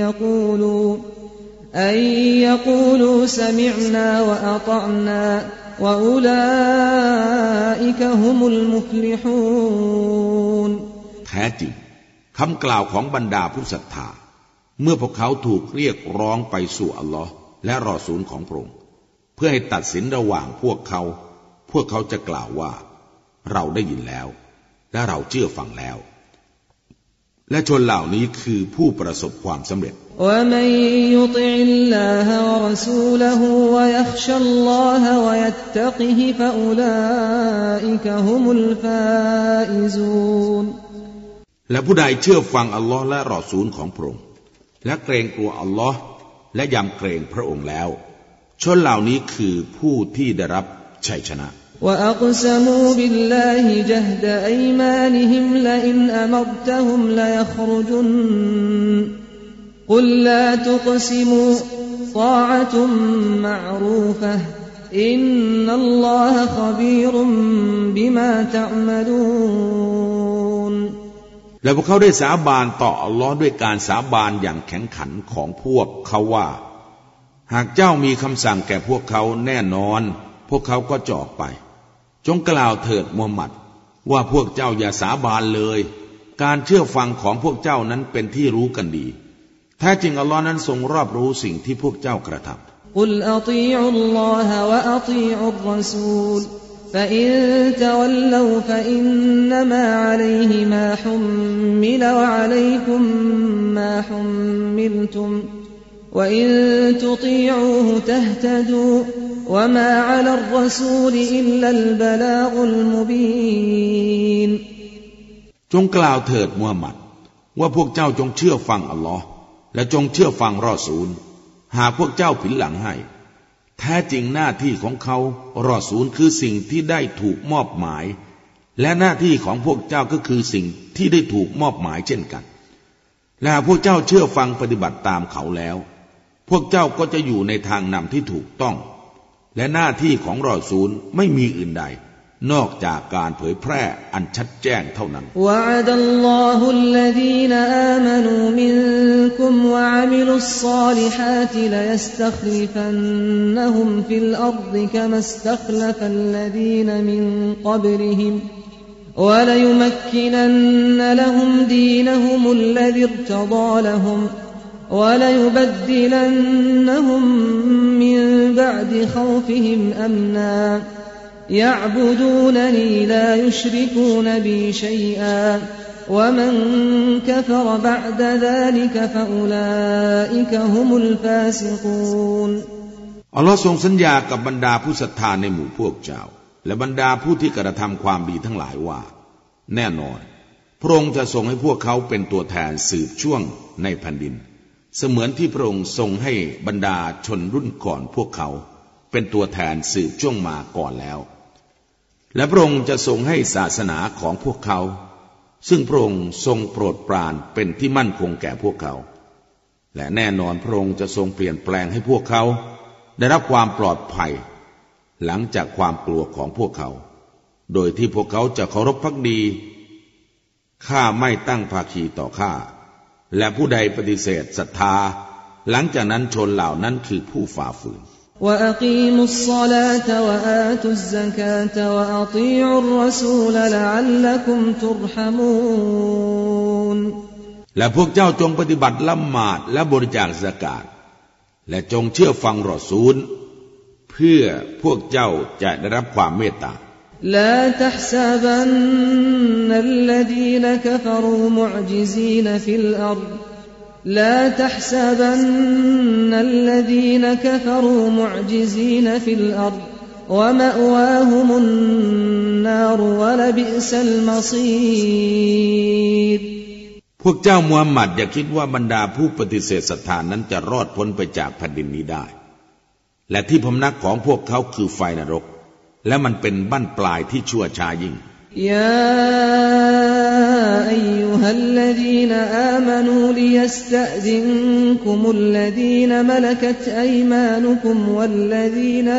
ยะกูลูซะมิอ์นาวะอะฏอ์นาวะอุลาอิกะฮุมุลมุฟลิฮูนแท้จริงคำกล่าวของบรรดาผู้ศรัทธาเมื่อพวกเขาถูกเรียกร้องไปสู่อัลลอฮ์และรอซูลของพระองค์เพื่อให้ตัดสินระหว่างพวกเขาจะกล่าวว่าเราได้ยินแล้วและเราเชื่อฟังแล้วและชนเหล่านี้คือผู้ประสบความสำเร็จ وَمَن يُطِعِ اللَّهَ وَرَسُولَهُ وَيَخْشَ اللَّهَ وَيَتَّقِهِ فَأُولَئِكَ هُمُ الْفَائِزُونَ และผู้ใดเชื่อฟังอัลลอฮ์และรอซูลของพระองค์และเกรงกลัวอัลลอฮ์และยำเกรงพระองค์แล้วชนเหล่านี้คือผู้ที่ได้รับชัยชนะ وَأَقْسَمُوا بِاللَّهِ جَهْدَ أَيْمَانِهِمْ لَئِنْ أَمَرْتَهُمْ لَيَخْرُجُنَّ قُل لَّا تُقْسِمُوا طَاعَةٌ مَّعْرُوفَةٌ إِنَّ اللَّهَ خَبِيرٌ بِمَا تَعْمَلُونَ และพวกเขาได้สาบานต่ออัลลอฮ์ด้วยการสาบานอย่างแข็งขันของพวกเขาว่าหากเจ้ามีคำสั่งแก่พวกเขาแน่นอนพวกเขาก็จะออกไปจงกล่าวเถิดมูฮัมหมัดว่าพวกเจ้าอย่าสาบานเลยการเชื่อฟังของพวกเจ้านั้นเป็นที่รู้กันดีแท้จริงอัลลอฮ์นั้นทรงรอบรู้สิ่งที่พวกเจ้ากระทำกุลอะฏีอุลลอฮะวะอะฏีอุรรอซูลفإن تولوا فإنما عليه ما حمل وعليكم ما حملتم وإن تطيعوه تهتدوا وما على الرسول إلا البلاغ المبين จงกล่าวเถิดมูฮัมหมัดว่าพวกเจ้าจงเชื่อฟังอัลลอฮ์และจงเชื่อฟังรอซูลหากพวกเจ้าผินหลังให้แท้จริงหน้าที่ของเขารอซูลคือสิ่งที่ได้ถูกมอบหมายและหน้าที่ของพวกเจ้าก็คือสิ่งที่ได้ถูกมอบหมายเช่นกันและพวกเจ้าเชื่อฟังปฏิบัติตามเขาแล้วพวกเจ้าก็จะอยู่ในทางนำที่ถูกต้องและหน้าที่ของรอซูลไม่มีอื่นใดนอกจากการเผยแพร่อันชัดแจ้งเท่านั้นวะอะดัลลอฮุลลซีนอามานูมินกุมวะอะมิลุศศอลิฮาติลยัสตัคลิฟันนะฮุมฟิลอัรฎิกะมัสตัคลัฟัลลซีนมินกับริฮิมวะลยุมักกินันละฮุมดีนะฮุมุลลซีอิรตฎอละฮุมวะลยุบัดดิลันนะฮุมมินบะอ์ดิคอฟิฮิมอัมนา يعبدونني لا يشركون بي شيئا ومن كفر بعد ذلك فأولئك هم الفاسقون อัลลอฮ์ทรงสัญญากับบรรดาผู้ศรัทธาในหมู่พวกเจ้าและบรรดาผู้ที่กระทำความดีทั้งหลายว่าแน่นอนพระองค์จะทรงให้พวกเขาเป็นตัวแทนสืบช่วงในแผ่นดินเสมือนที่พระองค์ทรงให้บรรดาชนรุ่นก่อนพวกเขาเป็นตัวแทนสืบช่วงมาก่อนแล้วและพระองค์จะทรงให้ศาสนาของพวกเขาซึ่งพระองค์ทรงโปรดปรานเป็นที่มั่นคงแก่พวกเขาและแน่นอนพระองค์จะทรงเปลี่ยนแปลงให้พวกเขาได้รับความปลอดภัยหลังจากความกลัวของพวกเขาโดยที่พวกเขาจะเคารพภักดีข้าไม่ตั้งภาคีต่อข้าและผู้ใดปฏิเสธศรัทธาหลังจากนั้นชนเหล่านั้นคือผู้ฝ่าฝืน وأقيموا الصلاة وآتوا الزكاة وأطيعوا الرسول لعلكم ترحمون และพวกเจ้าจงปฏิบัติละหมาดและบริจาคซะกาตและจงเชื่อฟังรอซูลเพื่อพวกเจ้าจะได้รับความเมตตา لا تحسبن الذين كفروا معجزين في الأرض لا تحسبن الذين كفروا معجزين في الأرض ومأواهم النار ولبئس المصير พวกเจ้ามูฮัมหมัดอย่าคิดว่าบรรดาผู้ปฏิเสธศรัทธานั้นจะรอดพ้นไปจากแผ่นดินนี้ได้และที่พำนักของพวกเขาคือไฟนรกและมันเป็นบั้นปลายที่ชั่วช้ายิ่ง يا أيها الذين آمنوا ليستأذنكم الذين ملكت أيمانكم والذين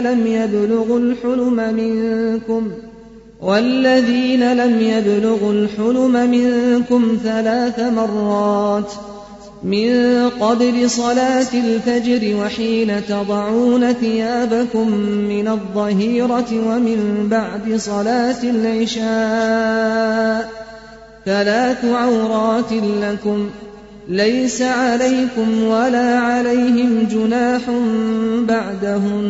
لم يبلغوا الحلم منكم 3 مرات من قبل صلاة الفجر وحين تضعون ثيابكم من الظهيرة ومن بعد صلاة العشاء 3 عورات لكم ليس عليكم ولا عليهم جناح بعدهن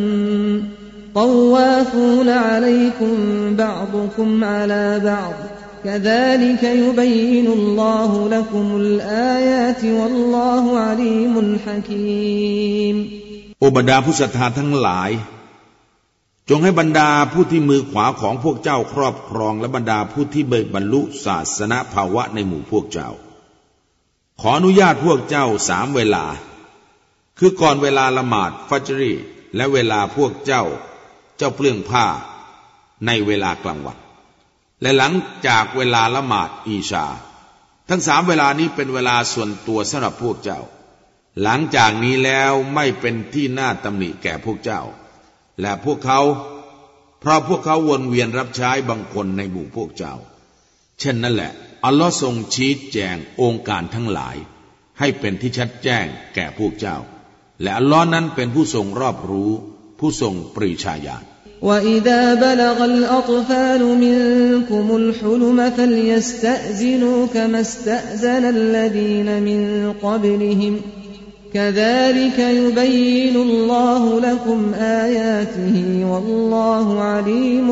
طوافون عليكم بعضكم على بعض كذلك يبين الله لكم الآيات والله عليم حكيم โอบรรดาผู้ศรัทธาทั้งหลายจงให้บรรดาผู้ที่มือขวาของพวกเจ้าครอบครองและบรรดาผู้ที่บรรลุศาสนภาวะในหมู่พวกเจ้าขออนุญาตพวกเจ้า3 เวลาคือก่อนเวลาละหมาดฟัจรีและเวลาพวกเจ้าเปลื้องผ้าในเวลากลางวันและหลังจากเวลาละหมาดอีชาทั้ง3 เวลานี้เป็นเวลาส่วนตัวสำหรับพวกเจ้าหลังจากนี้แล้วไม่เป็นที่น่าตำหนิแก่พวกเจ้าและพวกเขาเพราะพวกเขาวนเวียนรับใช้บางคนในหมู่พวกเจ้าเช่นนั้นแหละอัลลอฮ์ทรงชี้แจงองค์การทั้งหลายให้เป็นที่ชัดแจ้งแก่พวกเจ้าและอัลลอฮ์นั้นเป็นผู้ทรงรอบรู้ผู้ทรงปรีชาญาณ وَإِذَا بَلَغَ الْأَطْفَالُ مِنكُمُ الْحُلُمَ فَلْيَسْتَأْذِنُوا كَمَا اسْتَأْذَنَ الَّذِينَ مِن قَبْلِهِمْ كَذَلِكَ يُبَيِّنُ اللَّهُ لَكُمْ آيَاتِهِ وَاللَّهُ عَلِيمٌ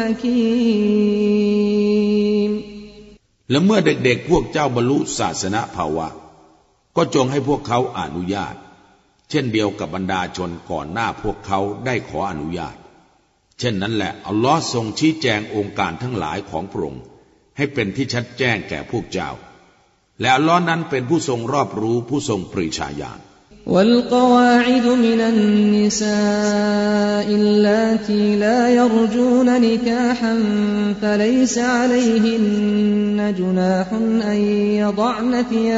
حَكِيمٌ และเมื่อเด็กๆพวกเจ้าบรรลุศาสนภาวะก็จงให้พวกเขาอนุญาตเช่นเดียวกับบรรดาชนก่อนหน้าพวกเขาได้ขออนุญาตเช่นนั้นแหละอัลลอฮ์ทรงชี้แจงองค์การทั้งหลายของพระองค์ให้เป็นที่ชัดแจ้งแก่พวกเจ้าและอัลลอฮ์นั้นเป็นผู้ทรงรอบรู้ผู้ทรงปรีชาญาณ والقواعد من النساء اللاتي لا يرجون نكاحا فليس عليهن جناح أن يضعن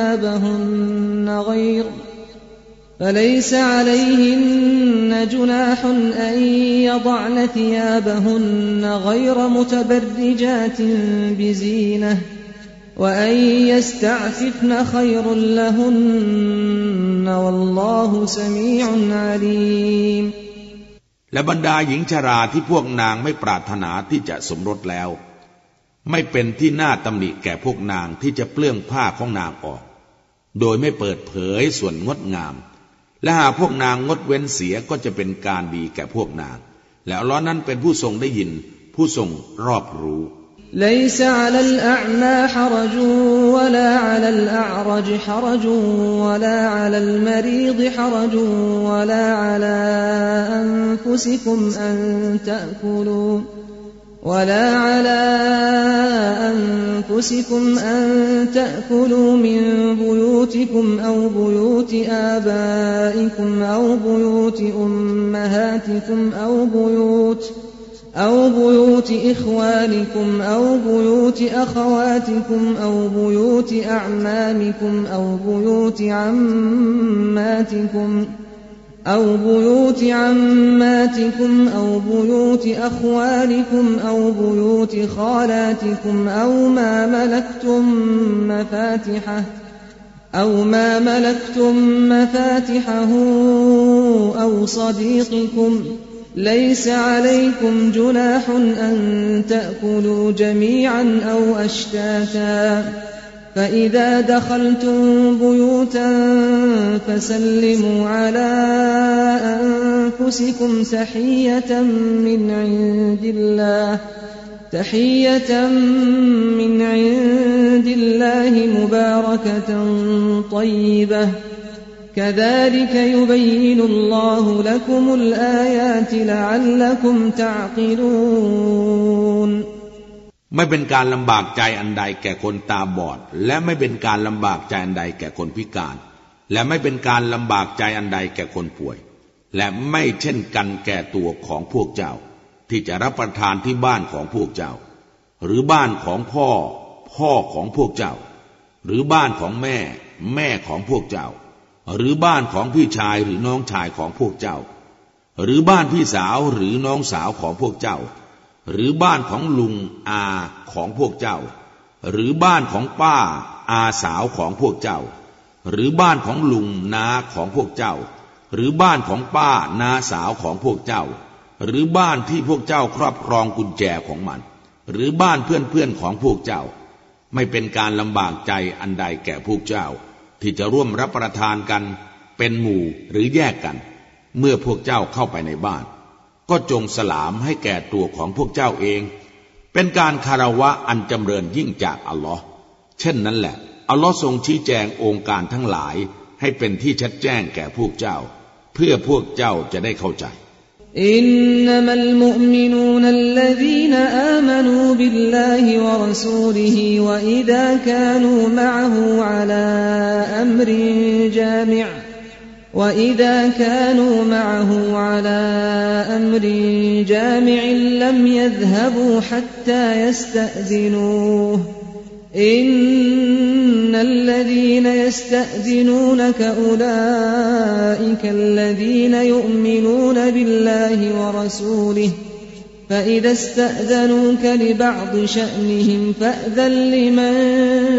ثيابهن غير متبرجات بزينة وأن يستعففن خير لهن والله سميع عليم และบรรดาหญิงชราที่พวกนางไม่ปรารถนาที่จะสมรสแล้วไม่เป็นที่น่าตำหนิแก่พวกนางที่จะเปลื้องผ้าของนางออกโดยไม่เปิดเผยส่วนงดงามและหากพวกนางงดเว้นเสียก็จะเป็นการดีแก่พวกนางและอัลเลาะห์นั้นเป็นผู้ทรงได้ยินผู้ทรงรอบรู้ ليس على الأعمى حرج ولا على الأعرج حرج ولا على المريض حرج ولا على أنفسكم أن تأكلوا من بيوتكم أو بيوت آبائكم أو بيوت أمهاتكم أو بيوت إخوانكم أو بيوت أخواتكم أو بيوت أعمامكم أو بيوت عماتكم أو بيوت أخوالكم أو بيوت خالاتكم أو ما ملكتم مفاتحه أو صديقكم ليس عليكم جناح أن تأكلوا جميعا أو أشتاتا فإذا دخلتم بيوتا فسلموا على أنفسكم تحية من عند الله مباركة طيبة كذلك يبين الله لكم الآيات لعلكم تعقلون ไม่เป็นการลำบากใจอันใดแก่คนตาบอดและไม่เป็นการลำบากใจอันใดแก่คนพิการและไม่เป็นการลำบากใจอันใดแก่คนป่วยและไม่เช่นกันแก่ตัวของพวกเจ้าที่จะรับประทานที่บ้านของพวกเจ้าหรือบ้านของพ่อของพวกเจ้าหรือบ้านของแม่ของพวกเจ้าหรือบ้านของพี่ชายหรือน้องชายของพวกเจ้าหรือบ้านพี่สาวหรือน้องสาวของพวกเจ้าหรือบ้านของลุงอาของพวกเจ้าหรือบ้านของป้าอาสาวของพวกเจ้าหรือบ้านของลุงนาของพวกเจ้าหรือบ้านของป้านาสาวของพวกเจ้าหรือบ้านที่พวกเจ้าครอบครองกุญแจของมันหรือบ้านเพื่อนของพวกเจ้าไม่เป็นการลำบากใจอันใดแก่พวกเจ้าที่จะร่วมรับประทานกันเป็นหมู่หรือแยกกันเมื่อพวกเจ้าเข้าไปในบ้านก็จงสลามให้แก่ตัวของพวกเจ้าเองเป็นการคารวะอันจำเริญยิ่งจากอัลลอฮ์เช่นนั้นแหละอัลลอฮ์ทรงชี้แจงองค์การทั้งหลายให้เป็นที่ชัดแจ้งแก่พวกเจ้าเพื่อพวกเจ้าจะได้เข้าใจอินนัมัลมุอ์มินูนัลลซีนอามานูบิลลาฮิวะรอซูลิฮิวะอิซากานูมะอะฮูอะลาอัมรินจามิอ์وإذا كانوا معه على أمر جامع لم يذهبوا حتى يستأذنوه إن الذين يستأذنونك أولئك الذين يؤمنون بالله ورسوله فإذا استأذنوك لبعض شأنهم فأذن لمن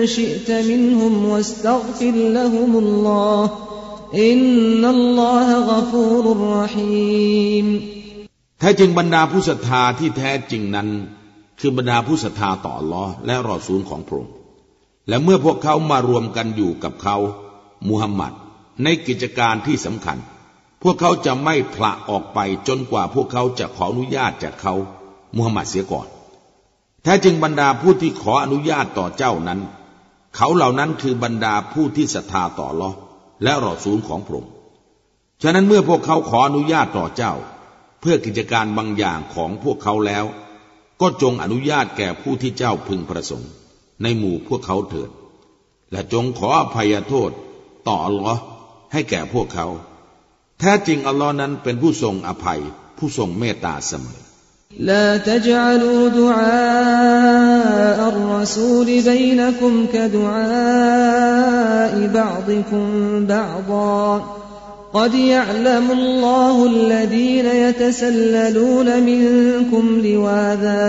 شئت منهم واستغفر لهم الله إن الله غفور رحيم แท้จริงบรรดาผู้ศรัทธาที่แท้จริงนั้นคือบรรดาผู้ศรัทธาต่ออัลเลาะห์และรอซูลของพระองค์และเมื่อพวกเขามารวมกันอยู่กับเขามุฮัมมัดในกิจการที่สำคัญพวกเขาจะไม่ผละออกไปจนกว่าพวกเขาจะขออนุญาตจากเขามุฮัมมัดเสียก่อนแท้จริงบรรดาผู้ที่ขออนุญาตต่อเจ้านั้นเขาเหล่านั้นคือบรรดาผู้ที่ศรัทธาต่ออัลเลาะห์และรอซูลของพระองค์ฉะนั้นเมื่อพวกเขาขออนุญาตต่อเจ้าเพื่อกิจการบางอย่างของพวกเขาแล้วก็จงอนุญาตแก่ผู้ที่เจ้าพึงประสงค์ในหมู่พวกเขาเถิดและจงขออภัยโทษต่ออัลลอฮ์ให้แก่พวกเขาแท้จริงอัลลอฮ์นั้นเป็นผู้ทรงอภัยผู้ทรงเมตตาเสมอ لا تجعلوا دعاء الرسول بينكم كدعاء بعضكم بعضا قد يعلم الله الذين يتسللون منكم لواذا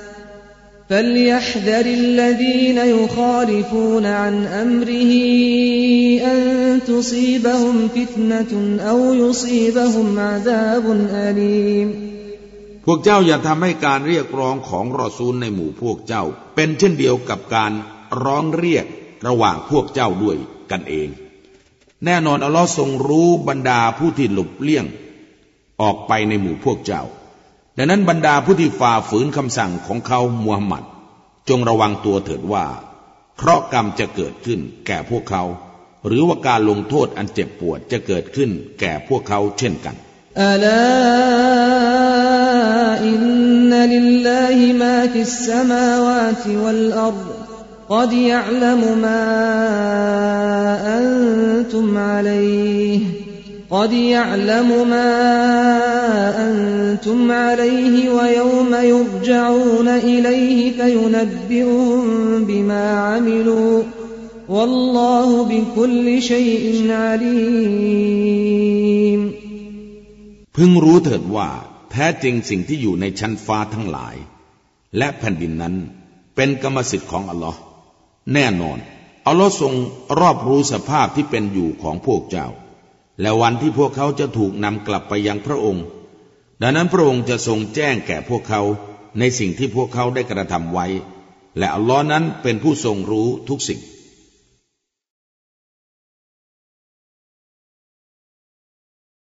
فليحذر الذين يخالفون عن أمره أن تصيبهم فتنة أو يصيبهم عذاب أليم พวกเจ้าอย่าทำให้การเรียกร้องของรอซูลในหมู่พวกเจ้าเป็นเช่นเดียวกับการร้องเรียกระหว่างพวกเจ้าด้วยกันเองแน่นอนอัลลอฮ์ทรงรู้บรรดาผู้ที่หลบเลี่ยงออกไปในหมู่พวกเจ้าดังนั้นบรรดาผู้ที่ฝ่าฝืนคำสั่งของเขามูฮัมหมัดจงระวังตัวเถิดว่าเคราะห์กรรมจะเกิดขึ้นแก่พวกเขาหรือว่าการลงโทษอันเจ็บปวดจะเกิดขึ้นแก่พวกเขาเช่นกันอัลาอินนัลิลลาฮิมาฟิสสมาวาติวัลอัรฎقد يعلم ما أنتم عليه قد يعلم ما أنتم عليه ويوم يرجعون إليه فينبئهم بما عملوا والله بكل شيء عليم พึงรู้เถิดว่าแท้จริงสิ่งที่อยู่ในชั้นฟ้าทั้งหลายและแผ่นดินนั้นเป็นกรรมสิทธิ์ของอัลลอฮ์แน่นอนอัลลอฮ์ทรงรอบรู้สภาพที่เป็นอยู่ของพวกเจ้าและวันที่พวกเขาจะถูกนำกลับไปยังพระองค์ดังนั้นพระองค์จะทรงแจ้งแก่พวกเขาในสิ่งที่พวกเขาได้กระทำไว้และอัลลอฮ์นั้นเป็นผู้ทรงรู้ทุกสิ่ง